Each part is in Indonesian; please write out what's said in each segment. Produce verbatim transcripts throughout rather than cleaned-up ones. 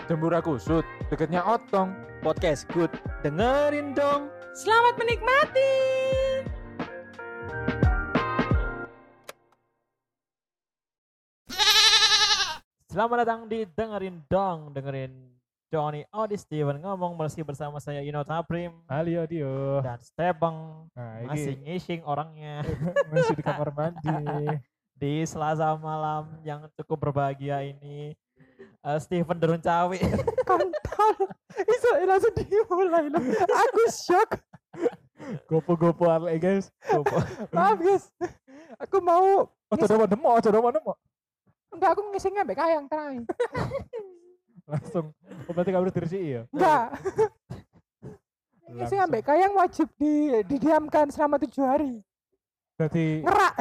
Jembura Kusut, deketnya Otong. Podcast Good. Dengerin dong. Selamat menikmati. Selamat datang di Dengerin dong. Dengerin Johnny Odi Steven ngomong masih bersama saya Yuno Taprim Alio Dio. dan Stepeng. Nah, Masih ini ngising orangnya masih di kamar mandi. di Selasa malam yang cukup berbahagia ini. Uh, Steven Derun Cawi. Kontol. Iso langsung dimulai loh. Aku shock. Gopo-gopo arek guys. Gopo. Maaf guys. Aku mau Ojo domo demo, ojo domo demo. enggak aku ngising ambek kayang terang. Langsung. Oh, berarti kamu dirisi ya? Enggak. Ngising ambek kayang wajib di didiamkan selama tujuh hari. Jadi Ngerak.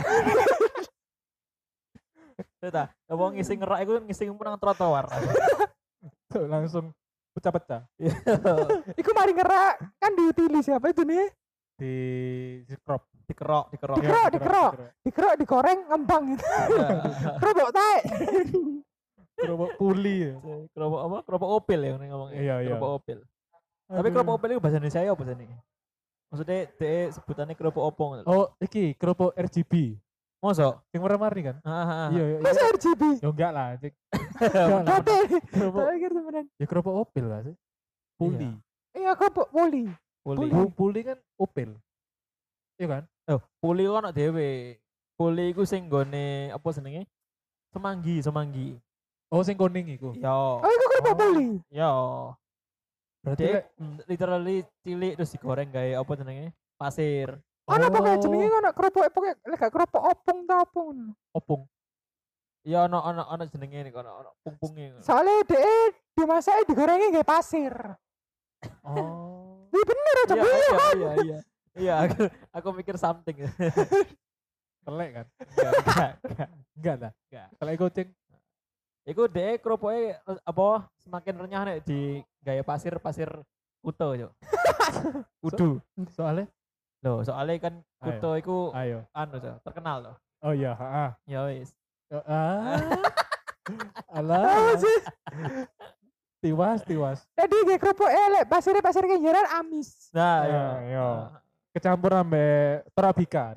Kita, kalau ngising ngerak itu ngising menang trotoar. langsung pecah-pecah Iku mari ngerak kan diutili siapa itu nih? di di crop. Dikerok, dikerok. Iya, Dikerok, di dikerok. crop. Dikerok, digoreng, ngembang gitu. Kerobok tae. Kerupuk puli ya. Kerupuk apa? Kerupuk opil ya ngomongnya. Iya, iya. Kerupuk opil. Tapi kerupuk opil itu bahasa Indonesia ya apa sih? Maksudnya dia sebutannya kerupuk opong. Oh, iki kerupuk R G B. Mosok? Yang warna-warni kan? Ah, Iya, iya. Masa R G B? Ya enggak lah, Cik. Enggak lah. Kate. Kerupuk Tak pikir temenan. ya kerupuk opil lah sih. Puli. Iya kerobok poli. Puli. Puli, puli kan opil. Iya kan? Oh, puli ku ana dhewe. Puli iku sing gone apa jenenge? Semanggi, semanggi. Oh, sing kuning iku. Yo. Oh iku kerobok Oh. poli. Yo. Berarti Dek, lek mm, literally cilik terus digoreng gawe apa jenenge? Pasir. Ana Oh. pokoknya jenenge ngono kerobok pokoknya lek gak kerobok opung ta opung. opung. Ya ono ono ono jenenge nih kono, ono pungpunge. Soalnya dhek dimasake digorengnya nggae pasir. Oh. Iya bener aja Iya, iya iya, kan. iya, iya. Iya, aku, aku mikir something. Telek kan? Enggak, enggak, enggak. Enggak lah. Enggak. Telek kucing. Iku dek keropoke apa semakin renyah nek di gaya pasir pasir kuto yo. Kudu. Soalnya Loh, soalnya kan kuto iku ayo. anu so, terkenal loh. Oh iya, heeh. Ya wis. Ah. Alah. Tahu sih. Tiwas, tiwas. Jadi nggae kerobok elek pasirnya pasir kenjeran amis. Nah, Ya, ya. yo. Kecampur sampe Torabika.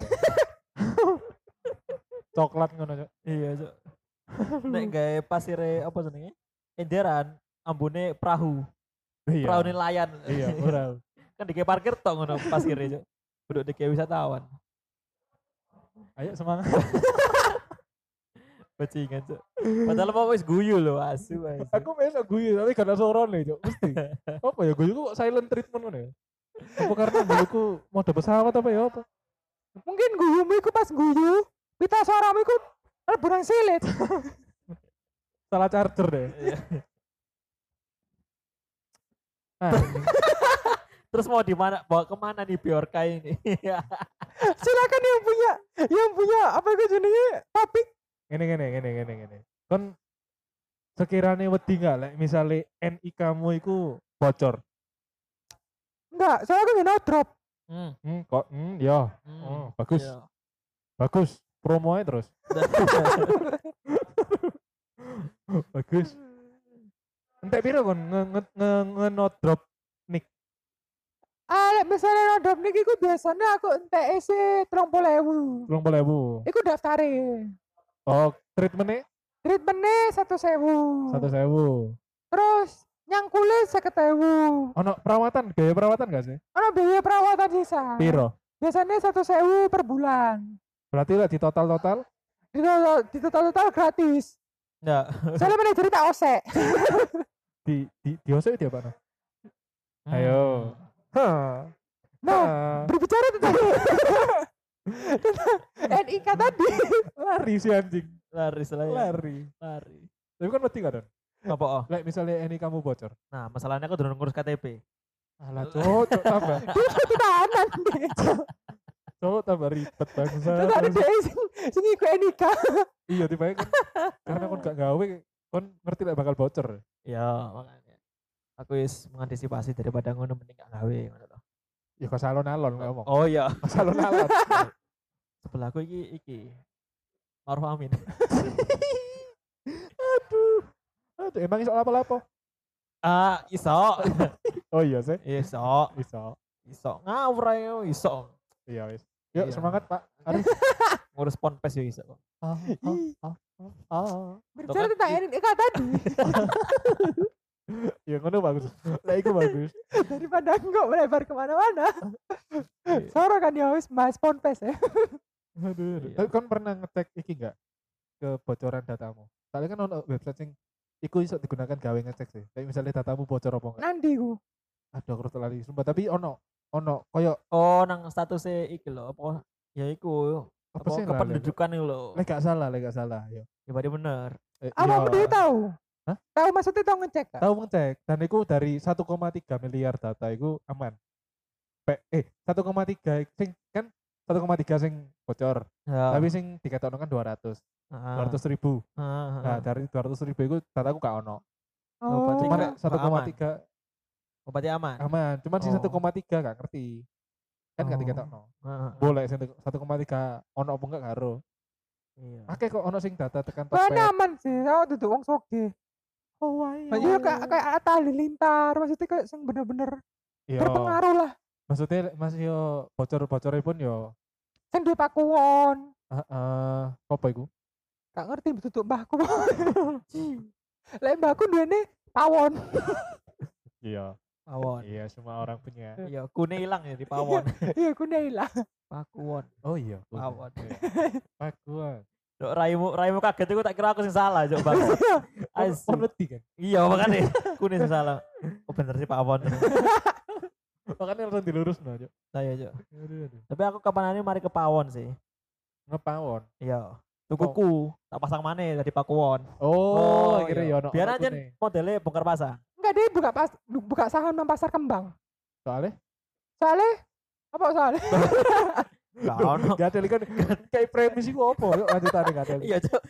Coklat ngono, Cok. Iya, so. Nek gaya pasire apa jenenge? Enderan ambune perahu. Iya. Perahu nelayan. Iya, ora. Kan dike parkir tok ngono pasire, Cuk. Kudu dike wisatawan. Ayo semangat. Bajingan, Cuk. Padahal mau wis guyu lho, asu asu. Aku mesok guyu tapi gak ada suarane, Cok. Mesti. Apa ya guyu kok silent treatment ngono ya? Apa karena guyuku mode pesawat apa ya apa? Mungkin guyumu iku pas guyu, pita suaramu iku rebunan silit. Salah charger deh. Iya. Ah, Terus mau di mana? Bawa kemana nih Bjorka ini? Silakan yang punya yang punya apa itu jenenge topik. ngene ngene ngene ngene ngene. Kon sekiranya wedi enggak lek misale N I K mu iku bocor. Enggak, soalnya aku no drop. Hmm. Hmm, kok hmm ya. hmm, Oh, bagus. iya. Bagus. Promonya terus. Bagus. Entek piro kon nge nge nge, nge no drop nick. Ah, lek misalnya no drop niki iku biasanya aku entek isi tiga puluh ribu. dua puluh ribu. Iku daftare. Oh, treatmentnya Treatmentnya satu sewu. satu sewu. Terus nyangkule seket sewu. Ono perawatan, biaya perawatan gak sih? Ono biaya perawatan sisa. Piro? Biasanya satu sewu per bulan. Berarti lah di total-total Di total, di total, total gratis. Enggak. Soalnya manajer tak osek. di di di osek dia apa? Hmm. Ayo. Hah. Nah, Hah. berbicara tentang tentang N I K tadi. Lari si anjing. Lari selain. Lari. Lari. Tapi kan mati kan? Apa oh? Lek misalnya ini kamu bocor. Nah, masalahnya aku durung ngurus K T P. Alah, cowok, cowok tambah. Itu tahanan. Cowok tambah ribet bangsa. Tentang ada sing sing iku N I K. Iya, tiba kan. Karena kon gak gawe, kon ngerti lek bakal bocor. Ya, makanya. Aku wis mengantisipasi daripada ngono mending gak gawe ngono loh. Ya kok salon-alon ngomong. Oh iya. Salon-alon. Sebelahku iki iki. Maruf Amin. Aduh. Aduh, emang iso apa-apa? Ah, iso. Oh iya sih. Iso. Bisa. Iso. Ngawur ayo iso. Iya wis. Yuk Iya. semangat Pak. Arif. Ngurus ponpes yo iso. Ah, Ih, ah, ah, ah. berbicara kan, tentang i- Erin Eka tadi Ya ngono bagus. Lah iku bagus. daripada enggak melebar kemana-mana. Iya. Soro kan ya wis bahas ponpes ya. Aduh, aduh. Iya. Tapi kan pernah ngecek iki enggak kebocoran datamu? Soalnya kan ono website sing iku iso digunakan gawe ngecek sih. Kayak misalnya datamu bocor apa enggak. Nanti ku. Aduh, aku lali sumpah, tapi ono ono koyo Oh, nang statusnya iki lho apa? Ya iku. apa Apa sih lah, kependudukan itu lho. lek gak salah, lek gak salah, yo. Ya berarti bener. Eh, Apa iya. udah tahu? Hah? Tahu maksudnya tahu ngecek kan? Tahu ngecek dan itu dari satu koma tiga miliar data itu aman. Pe, eh satu koma tiga sing kan satu koma tiga sing bocor, Ya. tapi sing dikatakan kan dua ratus Ah, dua ratus ribu. ah, ah, Nah, ah. dari dua ratus ribu itu dataku gak ono. Oh, berarti Cuman Tiga, satu koma aman. tiga Oh, berarti aman. aman. Cuman si Oh. satu koma tiga gak ngerti. Kan gak Oh. dikatakan. Ah, ah, ah. Boleh sing satu koma tiga ono apa enggak karo. Iya. Akeh kok ono sing data tekan Kan topet. aman sih, aku duduk wong soge. Oh, iya. Iya kayak kayak Atta Halilintar, maksudnya kayak sing bener-bener Iya. berpengaruh lah. Maksudnya masih yo bocor-bocornya pun yo Sing duwe pakuwon. heeh, apa iku? Gak ngerti duduk mbahku. Lek mbahku duwene pawon. Iya. Pawon. Iya, semua orang punya. Iya, kune hilang ya di pawon. Iya ku lah. Pakuwon. Oh iya, punya. Pawon. Iya. Pakuan. Dok raimu raimu kaget itu tak kira aku sing salah, Jok Bang. Asu. Kon wedi kan. Iya, makanya kune sing salah. Oh bener sih pawon. Makanya langsung dilurus no, Cuk. Saya, Jok. Aduh, aduh. Tapi aku kapan mari ke pawon sih. Ngepawon. Iya. Tukuku tak pasang maneh dari pakuwon. Oh, akhirnya iya. ya ono. Biar ono aja kune. modelnya bongkar pasang. Enggak dia buka pas buka saham nang pasar kembang. Soalnya Soalnya apa soalnya? Gak ono. gak ada kan kayak premis iku apa yuk lanjutane gak ada. Iya, Jok.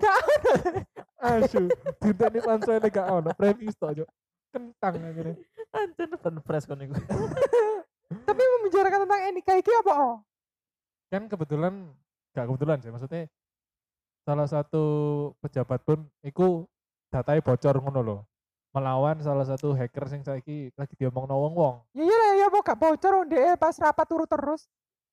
Asu, dinteni pansele gak ono premis tok, Cuk. Kentang akhirnya. Anjen ben fresh kon iku. Tapi membicarakan tentang Enika iki apa oh? Kan kebetulan gak kebetulan sih, maksudnya salah satu pejabat pun iku datanya bocor ngono loh. Melawan salah satu hacker sing saiki lagi diomongno wong-wong. Ya iya lah ya kok gak bocor wong dhek pas rapat turu terus.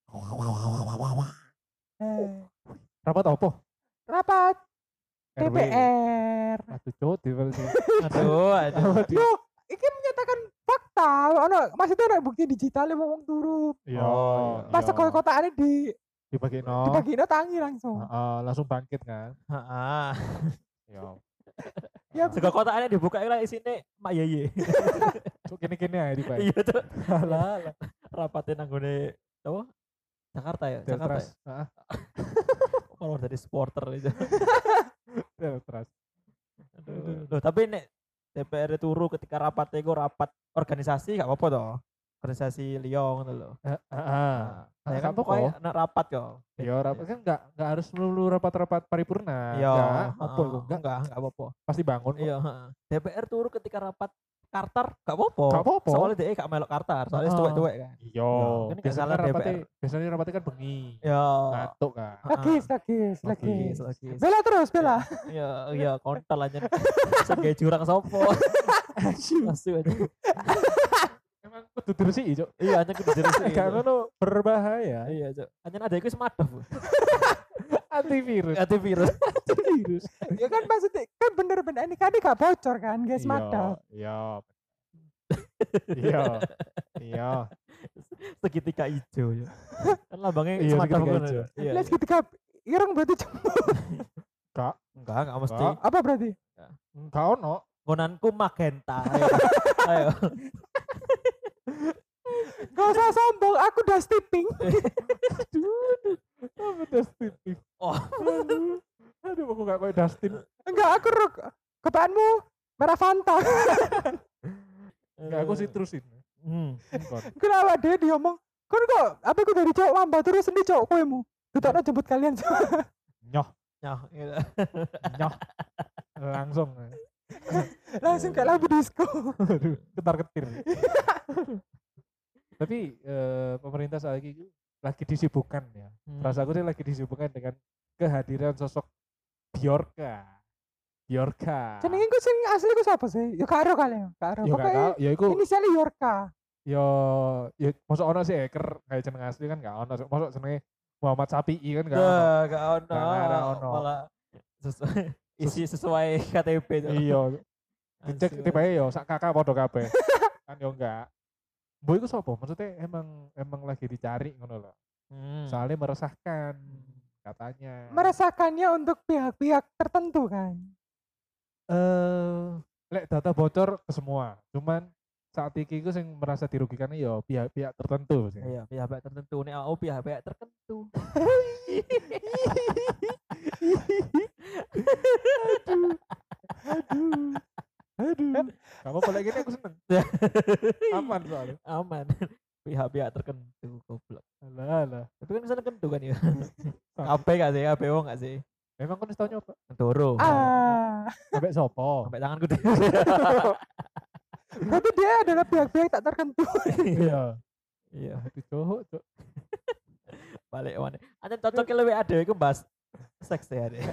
Eh, Rapat apa? rapat R W. D P R. Aduh, Cuk, di Aduh, aduh. Apa di- Yo, iki menyatakan fakta. Ono maksudnya ono bukti digital wong turu. Iya. Oh, Pas iya. sekolah kotaane di dibagi no. dibagino tangi langsung. Heeh, langsung bangkit kan. Heeh. Iya. Ya Sego kotaannya dibuka lah isine Mak Yeye. Cuk kene-kene ae di Pak. Iya, Cok. Alah, alah. Rapatin nanggone apa? Jakarta ya, Jakarta. Deltras. Ya? Heeh, Kalau dari supporter itu. Deltras. Aduh. Loh, tapi nek D P R turu ketika rapat itu rapat organisasi gak apa-apa toh. Organisasi Lyon gitu loh. Heeh. Nah, saya gak kan apa-apa. pokoknya nak rapat kok. Ya rapat kan enggak enggak harus melulu rapat-rapat paripurna. Iya, Enggak, apa heeh, itu enggak enggak, enggak apa-apa. pasti bangun. kok. Iya, heeh. D P R turu ketika rapat Kartar gak apa-apa. Gak apa-apa. Soalnya dia gak melok Kartar, soalnya Heeh. tuwek-tuwek kan. Iya, kan gak biasanya salah rapatnya, D P R. biasanya rapatnya kan bengi. Ya. Ngantuk kan. Lagis, lagis, Lagis, lagis. lagi. Bela terus, bela. Iya, iya, kontol aja. Sebagai jurang sopo. Asu aja. Emang kudu diresiki, Cuk. Iya, hanya kudu jelas. Gak ngono berbahaya. Iya, Cok. Hanya ada iku semadaf. Antivirus. Antivirus. Antivirus. Ya kan maksudnya kan bener-bener ini kan gak bocor kan, guys, Iya, mata. Iya. Iya. Iya. Segitiga hijau ya. Kan lambangnya Iya, semadaf segitiga ngono. hijau. Iya. Let's ketika ireng berarti jempol. Kak, Enggak, enggak mesti. Enggak. Apa berarti? enggak ono. Ngonanku magenta. Ayo. Ayo. Gak usah sombong, aku udah stepping. Apa Dustin? Oh. Aduh, aduh aku gak kayak Dustin. Enggak, aku ruk. Kepaanmu merah Fanta. Enggak, aku sitrusin. Hmm. Kon. Kenapa dia diomong? Kan kok, apa aku dari cowok mamba terus ini cowok kowe mu. Ditokno jemput kalian. Nyoh, Nyoh, gitu. nyoh. Langsung. Langsung kayak lagu disco. Aduh, ketar-ketir. Tapi eh, pemerintah saat ini lagi disibukkan ya. Hmm. Rasaku sih lagi disibukkan dengan kehadiran sosok Bjorka. Bjorka. Jenenge ku sing asli ku sapa sih? Ya karo kali ya. Karo. Yo gak Pokoknya tau, ya iku inisialnya Yorka. yo ya mosok ono sih hacker kayak jeneng asli kan gak ono. Mosok jenenge Muhammad Sapi'i kan gak ono. Dah, gak ono. Gak ada ono. Malah sesuai isi sesuai K T P tuh. Iya, dicek Asu, tiba asu. yo sak kakak podo kabeh. Kan yo enggak. Boy iku sapa? Maksudnya emang emang lagi dicari ngono loh. Hmm. Soalnya meresahkan katanya. Merasakannya untuk pihak-pihak tertentu kan. Eh, lek data bocor ke semua. Cuman saat iki iku sing merasa dirugikan ya pihak-pihak tertentu sih. Iya, pihak-pihak tertentu nih, oh pihak-pihak tertentu. Aduh. Aduh. Kamu boleh gini aku seneng. Aman soalnya. Aman. Pihak-pihak tertentu goblok. Alah, alah. Tapi kan bisa tertentu kan ya. Apa gak sih? Apa wong gak sih? Emang kau tau nyoba? Toro. Ah, Sampai sopo. Sampai tanganku deh. tapi dia adalah pihak-pihak tak tertentu. Iya. Iya, Aduh, cowok, cowok. balik mana. Ada cocoknya lebih ada itu bahas seks ya deh.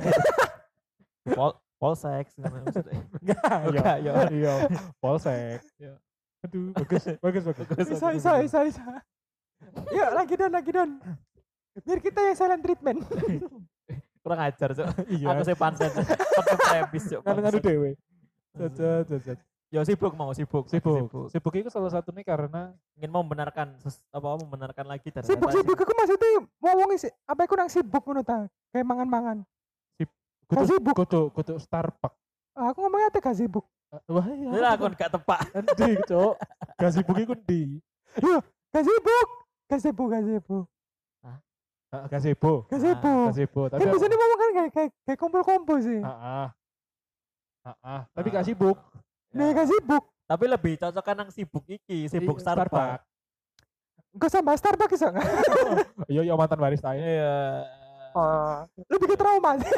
Pol pol seks maksudnya. Enggak, Enggak, iya. ya. Iya, polsek. Iya. Aduh, bagus, bagus, bagus. Bisa, bisa, bisa, bisa. Yuk lagi don, lagi don. Biar kita yang silent treatment. Kurang ajar, Cok. Iya. Aku sih panten. Aku premis, Cok. Nganu-nganu bangsat. dewe. Cacat, cacat. Ya sibuk mau sibuk. Sibuk. Sibuk itu salah satunya karena Ingin membenarkan ses- apa membenarkan lagi dan Sibuk-sibuk aku maksudnya mau wong isi apa iku nang sibuk ngono ta. Kayak mangan-mangan. kudu sibuk. kudu kudu Starbucks. Ah, aku ngomongnya teh gak sibuk. Wah, iya. Lah aku gak tepak. Endi, Cok? Gak sibuk iku ndi? Gak sibuk. Gak sibuk, gak sibuk. Ah, Gak sibuk. Gak Ah, sibuk. Gak sibuk, tapi Kan biasanya ngomong kan kayak kayak kayak kumpul-kumpul sih. Heeh. Heeh, tapi Ah. gak sibuk. Nah, gak sibuk. Tapi lebih cocok kan yang sibuk iki, sibuk I- Starbucks. Gak sama Starbucks iso nggak? Iya, iya mantan barista ya. Iya. Oh, lebih ke trauma sih.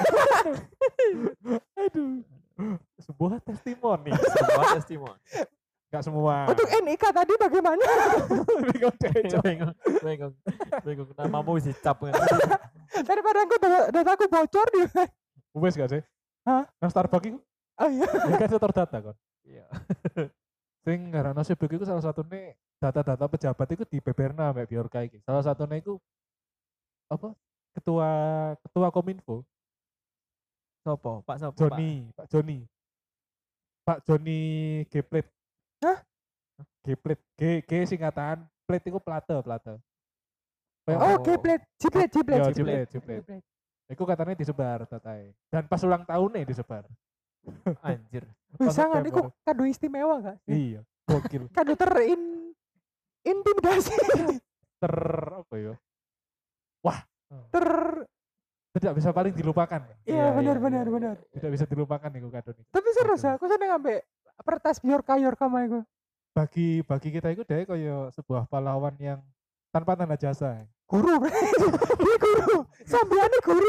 Aduh. Sebuah testimoni. Sebuah testimoni. Gak semua. Untuk N I K tadi bagaimana? Tapi kau deh, Cok. Bingung, bingung, bingung. Namamu isi cap kan. Daripada aku data, dataku bocor di. Wes gak sih? Hah? Nang Starbucks itu Oh iya. ya kan setor data kan. Iya. Sing karena sibuk itu salah satunya data-data pejabat itu di Beberna Mbak Biorka iki. Salah satunya itu apa? Ketua ketua Kominfo, Sopo? Pak Sopo? Joni, Pak Joni. Pak Joni Geplet. Hah? Geplet, G G singkatan, plet itu plate, plate. Kayak Oh, Oh. Gplet, Gplet, Gplet, Iya, Gplet. Gplet, Gplet. Iku katanya disebar datae. Dan pas ulang tahunnya disebar. Anjir. Wih, Pas sangat September. iku kado istimewa gak sih? Iya, gokil. Kado terin intimidasi. Ter apa ya? Ter Tidak bisa paling dilupakan. Iya, benar iya, benar iya, benar. iya. Tidak bisa dilupakan iku kado nih. Tapi seru Oke. sih, aku seneng ambek pertas Bjorka Yorka mah iku. Bagi bagi kita itu deh kayak sebuah pahlawan yang tanpa tanda jasa. Guru, dia guru. Sambiannya guru.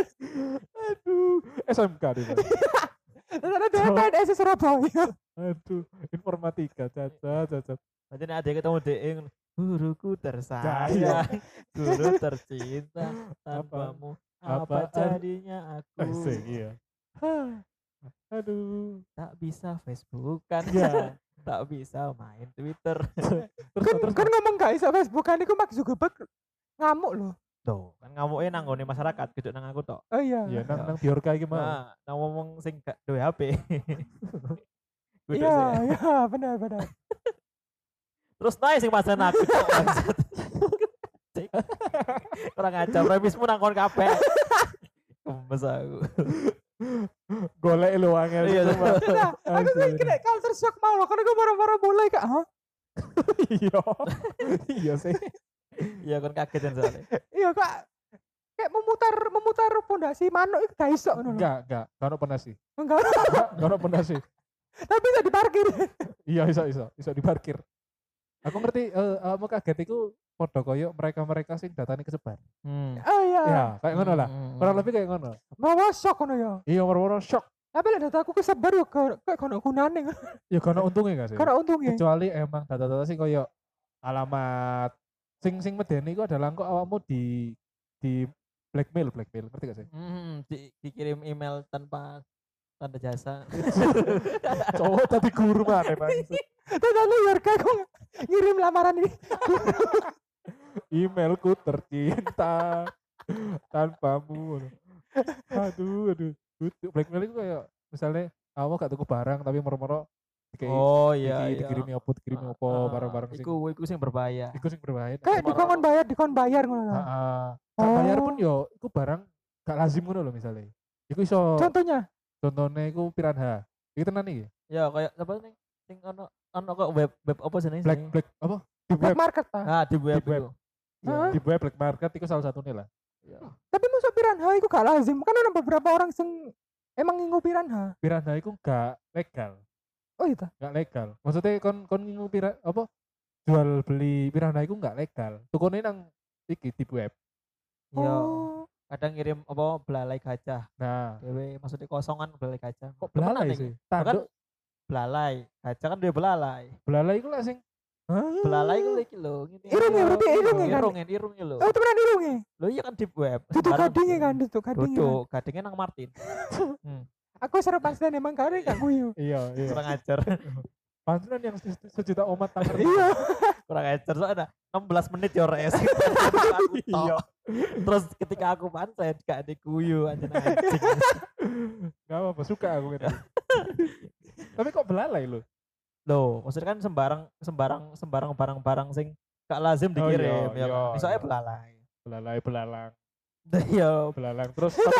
Aduh, S M K dia. Ternyata dia P N S Surabaya. Aduh, informatika, caca, caca. Nanti nek ada ketemu dek yang guruku Jaya. tersayang, guru tercinta, tanpamu apa Apaan? jadinya aku Asik, iya. Hah, Aduh. tak bisa Facebookan, Ya. tak bisa main Twitter. Terus Kan terus kan ngomong gak iso Facebookan iku Mark Zuckerberg ngamuk loh. Tuh, kan ngamuknya nanggone masyarakat, gitu nang aku tok. Oh iya. ya nang nang Biorka iki mah. Nah, nang ngomong sing gak duwe H P. Kudu Iya, sih. iya, benar benar. Terus naik sing pasan aku tok. bangsat. Cik. Kurang ajar, premismu nang kon kabeh. Kemes aku. Golek lu angel. Iya, sumpah. Nah, aku kan Asli. kena culture shock mau loh, karena gue baru-baru mulai kak, hah? Iya. Iya sih. Iya kon kaget kan soalnya. Iya kak, kayak memutar memutar pondasi manuk itu gak iso ngono lho. Enggak, enggak. Gak ono penasi. Enggak, Enggak, gak ono penasi. tapi bisa diparkir. Iya, iso iso, iso diparkir. Aku ngerti eh kamu kaget iku padha koyo mereka-mereka sing datane kesebar. Hmm. Oh iya. Ya, kayak ngono lah. Hmm. Kurang lebih kayak ngono. Mau shock ngono ya. Iya, moro-moro shock. Tapi lah data aku kesebar yo kayak kayak kono gunane, Ya gak ono untungnya gak sih? karena untungnya. Kecuali emang data-data sing koyo alamat sing sing medeni iku adalah kok awakmu di di blackmail, blackmail, ngerti gak sih? Hmm, di, dikirim email tanpa tanda jasa. Cowok tadi guru mana bang? Tadi Yorka aku ngirim lamaran ini. Emailku tercinta tanpamu. Aduh, aduh. Butuh blackmail itu kayak misalnya awak gak tuku barang tapi moro-moro dikei Oh iya iki iya. dikirimi opo dikirimi opo Ah, barang-barang sing Iku iku sing berbahaya. iku sing berbahaya. Kayak Moro- dikon bayar, dikon bayar ngono ta. Heeh. Gak bayar pun Oh. yo iku barang gak lazim ngono lho misalnya. Iku iso Contohnya, contohnya iku piranha. Iki tenan iki. Ya kayak apa nih? Sing ono ono kok web web apa sih Black black apa? Di black web, market ta. Ah, di web Di web. itu. Hah? di web black market iku salah satunya lah. Iya. Tapi masuk piranha iku gak lazim. Kan ada beberapa orang sing emang ngingu piranha. Piranha iku gak legal. Oh iya ta. Gak legal. Maksudnya kon kon ngingu pira apa? Jual beli piranha iku gak legal. Tukune nang iki di web. Iya. Oh. Kadang ngirim apa belalai gajah. Nah, Dewe maksudnya kosongan belalai gajah. kok Temenan belalai iki. sih? Tanduk Belalai. Gajah kan dia belalai. belalai iku lah sing Belalai iku iki lho, ngene. Irung ya, berarti irung ya kan? Irung, irung ya lho. Oh temenan irunge. Lho iya kan di web. Duduk Sembarang gadingnya gitu. kan, duduk gadingnya. Kan. Duduk, gadingnya nang Martin. Aku seru pastian emang kare gak guyu. Iya, iya. Kurang ajar. Pantulan yang se- sejuta umat tak ngerti. Iya. Kurang ajar soalnya enam belas menit ya res. Iya. Terus ketika aku pancet gak diguyu anjing anjing. Gak apa-apa, suka aku gitu. Tapi kok belalai lo? Loh, maksudnya kan sembarang sembarang sembarang barang-barang sing gak lazim Oh, iya, dikirim ya iya, kan. Misalnya iya. belalai. Belalai, belalang, Iya, belalang. Terus tapi,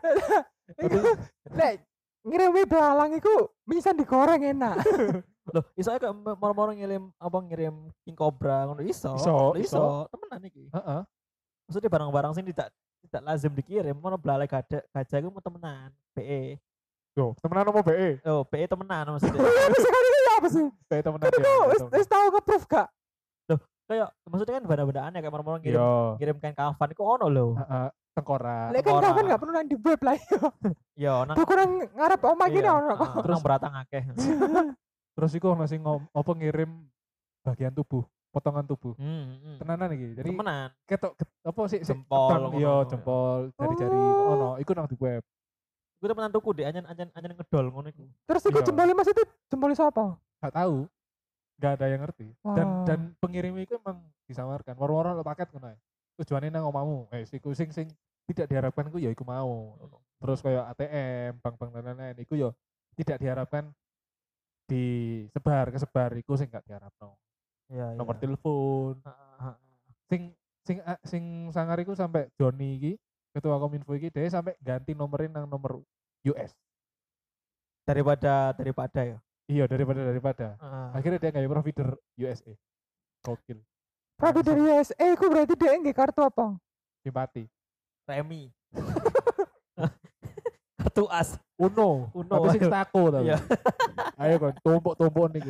Iku lek ngirimi belalang iku bisa digoreng enak. loh, isonya kayak moro-moro ngirim apa ngirim king cobra ngono iso. Iso, Loh, iso. iso. Temenan iki. heeh. Maksudnya barang-barang sing tidak tidak lazim dikirim, mana belalai gajah gajah iku mau temenan. B E. Yo, temenan sama B E. Oh, B E temenan maksudnya. Bisa kan itu apa sih? B E temenan Kan ya. aku wis temenan. wis tau nge-proof gak? Kayak maksudnya kan benda-bendaan ya kayak moro-moro ngirim Yo, ngirim kain kafan iku ono lho. heeh, tengkorak. Lek kan Orang. kapan gak perlu nang di web lah yo. Yo nang Tuh kurang ngarep omah gini iya, ono kok. ah, nang beratang akeh. Terus iku ono sing ngom- apa ngirim bagian tubuh, potongan tubuh. Hmm, hmm. Tenanan iki. Jadi Temenan. ketok ket- apa sih sih, Jempol, ketang, ngono. iya jempol, jari-jari Oh. ono, iku nang di web. Gue temenan tuku deh anjen anjen anjen ngedol ngono iku. Terus iku Iya. jempolnya mas itu jempolnya siapa? Gak tahu. Gak ada yang ngerti. Dan Wah. dan pengirim itu emang disamarkan. War-war lo paket ngono ae. Tujuannya nang omamu. Eh siku sing sing tidak diharapkan iku ya iku mau. Terus kayak A T M, bank-bank dan lain-lain iku ya tidak diharapkan disebar, kesebar iku sing gak diharapno. Iya, Nomor iya. telepon. Heeh, heeh. Sing sing a- sing sangar iku sampai Joni iki, ketua Kominfo iki dia sampai ganti nomerin nang nomor U S. Daripada daripada ya. Iya, daripada daripada. Heeh. Akhirnya dia kayak provider U S A. Gokil. Produk dari U S A iku berarti dia nggak kartu apa? Simpati. Remi. Kartu as. Uno. Uno, Tapi sing ayo. tako tapi. Iya. Ayo kan tumpuk-tumpuk niki.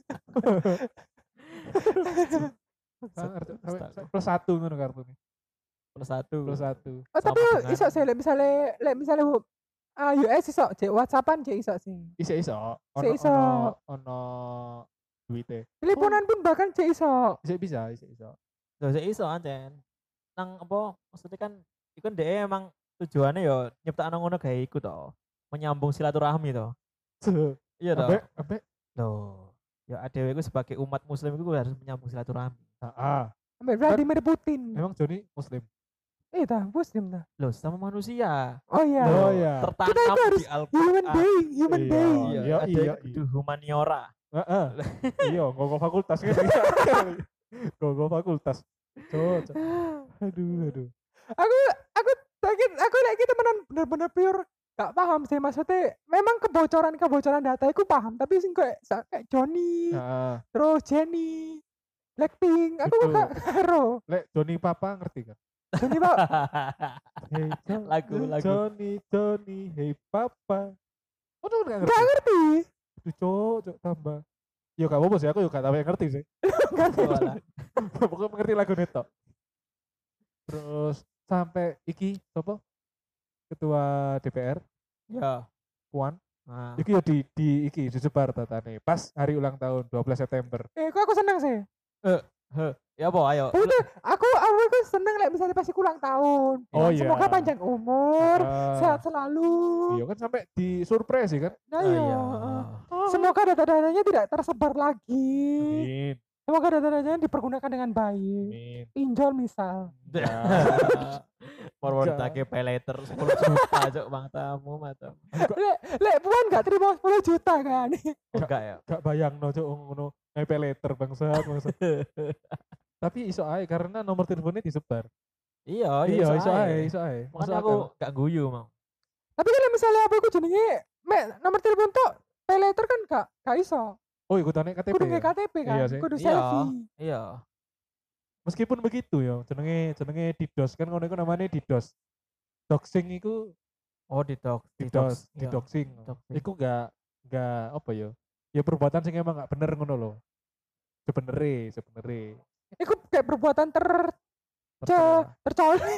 Sangar, Cuk. Sampai- Astaga. sampai plus satu ngono kartune. Plus satu. Plus satu. Oh tapi Sama dengan- iso sih lek misale lek misale ah U S iso cek WhatsAppan cek iso sih. Iso iso. Ono Iso. ono ono duite. Teleponan pun bahkan cek iso. Iso bisa, iso iso. Gak usah iso anjen. Nang apa maksudnya kan iku ndek emang tujuannya ya nyiptakno ngono gawe iku to. Menyambung silaturahmi to. Iya to. Ambek ambek Loh. Ya adewe iku sebagai umat muslim iku harus menyambung silaturahmi. ah, Sampai Vladimir Putin. emang Joni muslim. Eh dah, muslim dah. Loh, sama manusia. Oh iya. Oh Loh, iya. Tertanam Kita harus di Al-Qur'an. Human being, human Iya. being. Iya, Iya, ada iya, kudu humaniora. Heeh. Iya, nggo fakultas kan. Nggo fakultas. Cok, cok. Aduh, aduh. Aku aku sakit aku lagi temenan bener-bener pure gak paham sih maksudnya memang kebocoran kebocoran data aku paham tapi sing kayak sa- kayak Johnny Heeh. terus Jenny Blackpink aku Betul. gak karo Lek Joni Papa ngerti kan? Johnny pak Hey Johnny, Lagu, lagu. Johnny, Johnny, hey Papa. Oh, tuh nggak ngerti. gak ngerti Aduh, cok, cok tambah. Yo gak apa-apa sih, aku juga gak tahu yang ngerti sih. gak ngerti Walah. Pokoknya mengerti lagu neto. Terus sampai iki apa? Ketua D P R Ya. Puan, Nah. iki yo di di iki disebar datane pas hari ulang tahun dua belas September. eh kok aku seneng sih Ya apa ayo. Udah, aku aku aku seneng lek misalnya pas iku ulang tahun. Oh, Ya, Semoga iya. panjang umur, Ah, sehat selalu. Iya kan sampai di surprise sih kan. Nah, Ah, iya. iya. heeh. Semoga data-datanya tidak tersebar lagi. Amin. Semoga data-datanya dipergunakan dengan baik. Amin. Pinjol misal. Ya. Forward Enggak. take pay letter sepuluh juta cok bang tamu mata. Lek lek puan gak terima sepuluh juta kan. Oh, enggak ya. Gak bayang no cok ngono pay letter bangsat bangsat. Tapi iso ae karena nomor teleponnya disebar. Iya, iya iso ae. ae, iso ae. Masuk Makanya aku akal. gak guyu mau. Tapi kalau misalnya apa aku jenenge mek nomor telepon tok pay letter kan gak gak iso. Oh ikutannya K T P. Kudu ya? nge K T P kan, Iya sih. kudu Iya. selfie. Iya. Meskipun begitu ya, jenenge jenenge DDoS kan ngono iku namanya DDoS. Doxing iku Oh di dok, di DDoS, dox. Iya. didoxing. Doxing. Iku gak gak apa ya? Ya perbuatan sing emang gak bener ngono loh. Sebenere, sebenere. Iku kayak perbuatan ter ce Terserah. tercoli.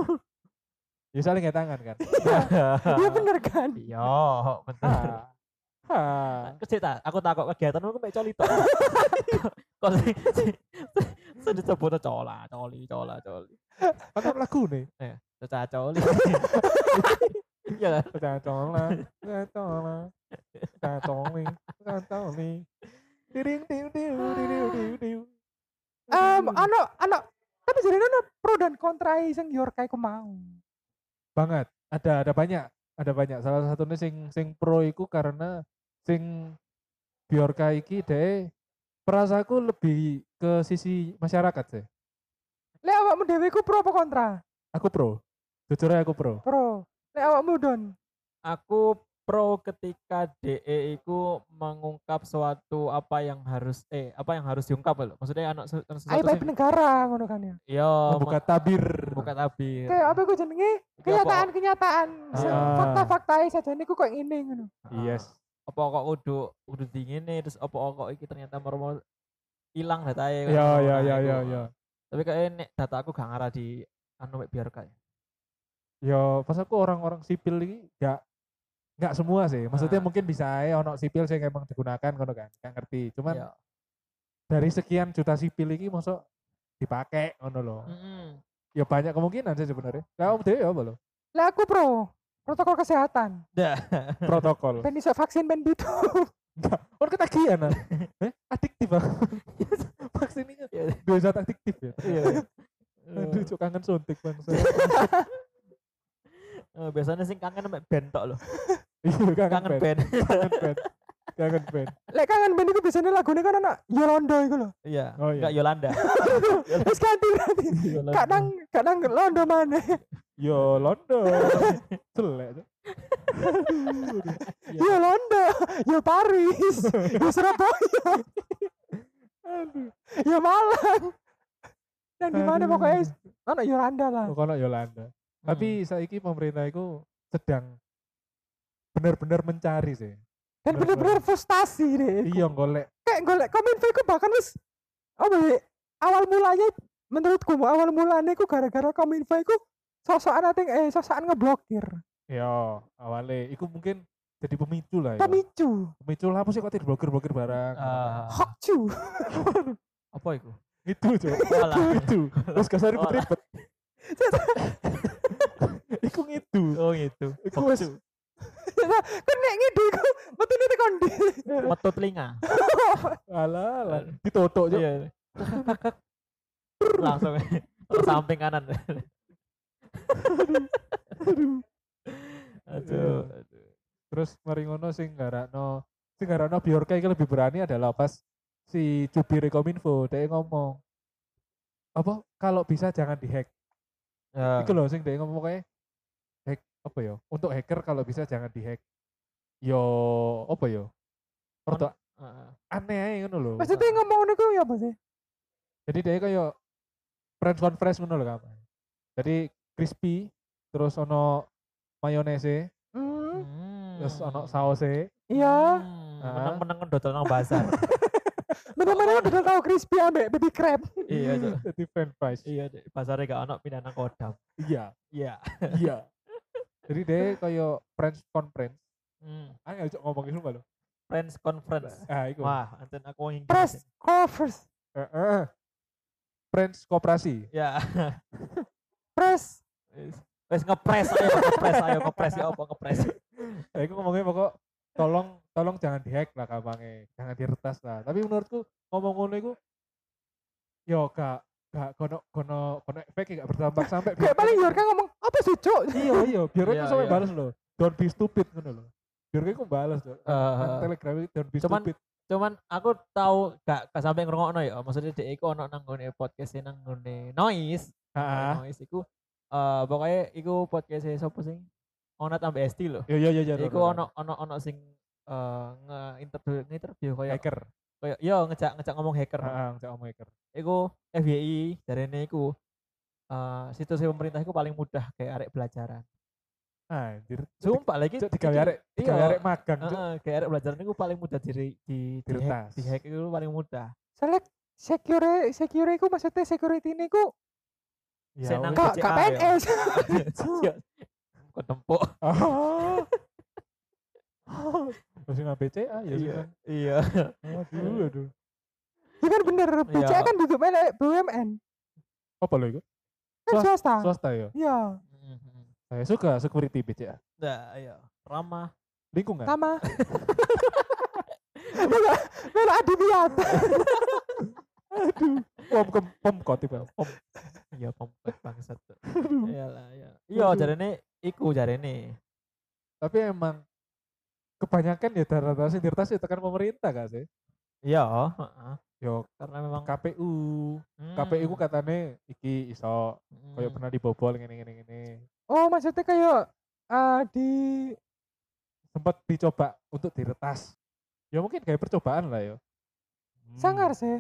Ya saling nggak tangan kan. Iya bener kan? Iya, bener. Ha. Ha. Kecil tak, aku takut kegiatanmu aku mek coli tok. Kok sing sing disebut cola, coli, cola, coli. Kan lagu nih. Eh, cocah coli. Iya kan? Cacola, cacola, cacoli, cacoli. Diring diu diu diu diu diu. Em ano ano tapi jadi ono pro dan kontra sing Yorka iku mau. Banget. Ada ada banyak, ada banyak. Salah satunya sing sing pro iku karena sing Bjorka iki deh perasaku lebih ke sisi masyarakat sih. Lek awakmu dhewe iku pro apa kontra? Aku pro. Jujur aja aku pro. Pro. Lek awakmu Don. Aku pro ketika D E iku mengungkap suatu apa yang harus eh apa yang harus diungkap loh. Maksudnya anak se- sesuatu Aib sing negara ngono kan ya. iya Membuka tabir. buka tabir. Kayak apa iku jenenge? Iki apa- Kenyataan-kenyataan. Se- Ah. Fakta-fakta saja niku kok ngene ngono. Yes. Apa kok kudu kudu dingin nih terus apa kok iki ternyata mau hilang Ya datae. ya Nah, ya iku. ya ya. Tapi kayak nek data aku gak ngarah di anu mek biar kayak. Ya pas aku orang-orang sipil ini gak nggak semua sih. Maksudnya Ah. mungkin bisa aja ono sipil sing emang digunakan ngono kan. Gak ngerti. Cuman Iya. dari sekian juta sipil ini masuk dipakai ngono loh. Mm-mm. Ya banyak kemungkinan sih sebenarnya. Kamu dhewe apa lo? Lek aku pro. Protokol kesehatan. Dah. Protokol. Ben iso vaksin ben bitu. Enggak, orang ketagihan ah. Eh, adiktif ah. Vaksin ini Iya. dua zat adiktif ya. Iya. Aduh, cuk kangen suntik bangsa. Eh, biasanya sing kangen mek band tok loh. Iya, kangen Kangen band. band. Kangen band. Kangen band. Lek kangen ben iku biasanya lagune kan ana Yolanda iku lho. Iya. Oh, iya. Enggak Yolanda. Wis ganti berarti. Yolanda. Kadang kadang Londo maneh. Yo London. Celek. Cuk. Iya. Yo Londo, yo Paris, yo Surabaya, Aduh. yo Malang. Dan di mana Aduh. pokoknya ana Yolanda lah. Pokoknya Yolanda. Tapi saiki pemerintah itu sedang benar-benar mencari sih. Dan bener-bener. bener-bener frustasi deh. Iya golek. Kayak golek Kominfo iku bahkan wis apa ya, awal mulanya menurutku awal mulanya iku gara-gara Kominfo iku sosokan ating eh sosokan ngeblokir. Ya, awalnya iku mungkin jadi pemicu lah ya. Pemicu. Pemicu lah apa sih kok diblokir-blokir barang. Ah, Hokcu. apa itu? Itu, Cuk. Walah. Itu. Terus gak usah Walah. ribet-ribet. Iku ngidu. Oh gitu. Iku wes Kan nek ngide iku metune tekan ndi. Metu telinga. alah, alah. Ditotok, Cuk. Iya. Langsung terus samping kanan. Aduh. Aduh. Terus mari ngono sing garakno sing garakno Bjorka iki lebih berani adalah pas si jubir Kominfo dia ngomong apa kalau bisa jangan dihack. Ya. Iku loh sing dia ngomong kayak hack apa ya? Untuk hacker kalau bisa jangan dihack. Yo apa ya? Ordo Heeh. aneh aja ngono lho. Maksudnya ngomong ngono iku ya apa sih? Jadi dia kayak press conference ngono lho kamu. Jadi crispy terus ono mayonnaise, Hmm. Hmm. terus ono sausnya. Iya. Hmm, Ah. Menang-menang dodol nang pasar. Bener-bener udah tahu crispy ambek baby crab. Iya, Cuk. Jadi french fries. Iya, Dek. Pasarnya gak ono pindah nang Kodam. Iya, Iya. iya. Jadi dia kayak press conference. Hmm. Angel cok ngomongin sumpah lho. Friends conference. Ah, iku. Wah, anten aku ingin Press conference. Heeh. Friends Koperasi. Ya. Press. Wis wis ngepres ayo ngepres ayo ngepres ya apa ngepres. Ya iku ngomongnya pokok tolong tolong jangan dihack lah gampangnya, jangan diretas lah. Tapi menurutku ngomong ngono iku yo gak gak kono kono kono efek gak berdampak sampai Kayak paling Yorka ngomong apa sih cuk? iya iya biar Iya, itu sampai iya. balas loh. Don't be stupid ngono loh. Biar aku balas loh. Eh, Telegram itu don't be cuman- stupid. cuman aku tahu gak gak sampai ngrungokno ya. Maksudnya dhek iku ono nang nggone podcast nang nggone Noise. Heeh. Noise iku eh pokoknya iku podcast sapa sing ono tambah S T lho. Iya iya iya. Iku ono ono ono sing eh nge-interview nge-interview kayak hacker. kayak yo ngejak ngejak ngomong hacker. Heeh, saya ngomong hacker. Iku F Y I jarene iku eh situs pemerintah iku paling mudah kayak arek belajaran. Anjir. Sumpah lagi Cuk digawe arek digawe iya. arek magang cuk. Heeh, kayak arek belajaran iku paling mudah di di di hack, Diretas. di hack itu paling mudah. Soalnya secure secure iku maksudnya security ini ku Ya Senang wes. kok B C A K P N S. Iya. Kok tempuk. Oh. Masih nang B C A ya sih. Iya. Iya. Aduh aduh. Ya kan bener, B C A Iya. kan duduk melek B U M N. Apa lo itu? Kan Swasta. swasta. Swasta ya. Iya, Mhm. Saya suka security B C A. Nah, iya. Ramah. Lingkungan. sama. Melok melok adibiyat. Aduh. Pom pom pom kotip ya. Pom. Iya, pompet bangsat. Iyalah, iya. Iya, Aduh. jarene iku jarene. Tapi emang kebanyakan ya data sing diretas ya tekan pemerintah gak sih? Iya, heeh. Yo Karena memang K P U. K P U ku Hmm. katane iki iso Hmm. kayak pernah dibobol ngene ngene ngene. Oh, maksudnya kayak eh, di Sempat dicoba untuk diretas. Ya mungkin kayak percobaan lah ya. Hmm. sangar sih.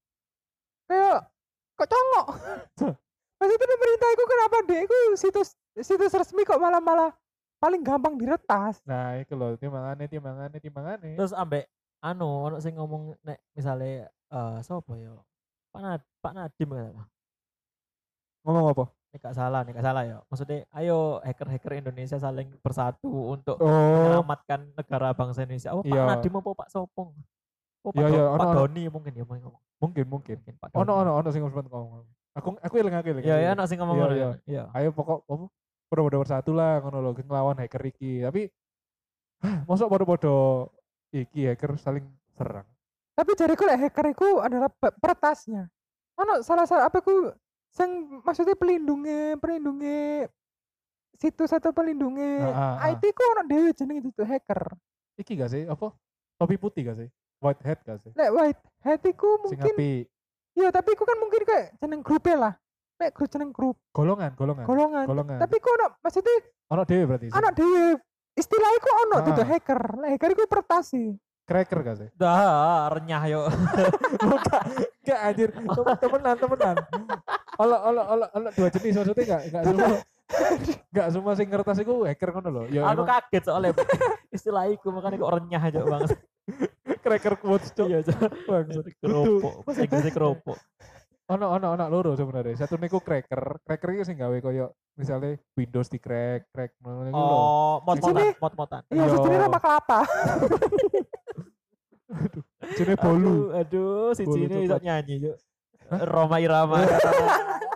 Kayak kok congok. Maksudnya pemerintah itu kenapa deh itu situs situs resmi kok malah-malah paling gampang diretas. Nah, itu loh, timbangane timbangane timbangane. Terus ambek anu ono sing ngomong nek misale eh sapa ya? Pak Nad Pak Nadim kata. Ngomong apa? Nek gak salah, nek gak salah ya. Maksudnya ayo hacker-hacker Indonesia saling bersatu untuk Oh, menyelamatkan negara bangsa Indonesia. Oh, Pak Iya. Nadiem apa Pak Sopong? Oh, Pak, Iya, Do- iya, Pak ono, ono. Doni mungkin ya mau ngomong. mungkin mungkin. Mungkin Pak Doni. Ono ono ono sing sempat ngomong. Aku aku eling aku eling. Iya, aku ya eling. ono sing ngomong Iya, ngono iya. ya. Iya. Ayo pokok apa? Podo-podo bersatu lah ngono lho ngelawan hacker iki. Tapi mosok podo-podo iki hacker saling serang. Tapi jariku lek hacker itu adalah pe- peretasnya. Ono salah salah apa ku sing maksudnya pelindungnya pelindungnya situs atau pelindungnya Ah, ah, ah. I T ku ono dhewe jeneng itu tuh hacker. Iki gak sih? Apa? Topi putih gak sih? White hat gak sih? Lek white hat iku Sing mungkin api iya tapi iku kan mungkin kayak jeneng grupnya lah. Lek grup jeneng grup golongan, golongan. golongan. Golongan. Tapi ku ono maksudnya Ono dhewe berarti. sih. ono dhewe istilah iku ono Ah. tuh hacker. Lek hacker iku peretas sih. Cracker gak sih? Dah renyah yo. Bukan. Gak anjir. Tem- Temenan, temenan. Ono ono ono ono dua jenis maksudnya gak gak semua gak semua sing ngertas iku hacker ngono lho. Ya Aku emang kaget soalnya istilah iku makanya kok renyah aja banget. cracker quotes cok. Iya, Cok. Bangsat. Keropok. Bahasa Inggrisnya keropok. Ono ono ono loro sebenarnya. Satu niku cracker. Cracker itu sing gawe koyo misalnya Windows di crack, crack ngono niku lho. Oh, mod-modan, Sini. mod-modan. Iya, Iya. sejenis nama kelapa. Jenenge bolu. Aduh, aduh si Bolu Cini coklat. iso nyanyi, Cuk. Roma Irama.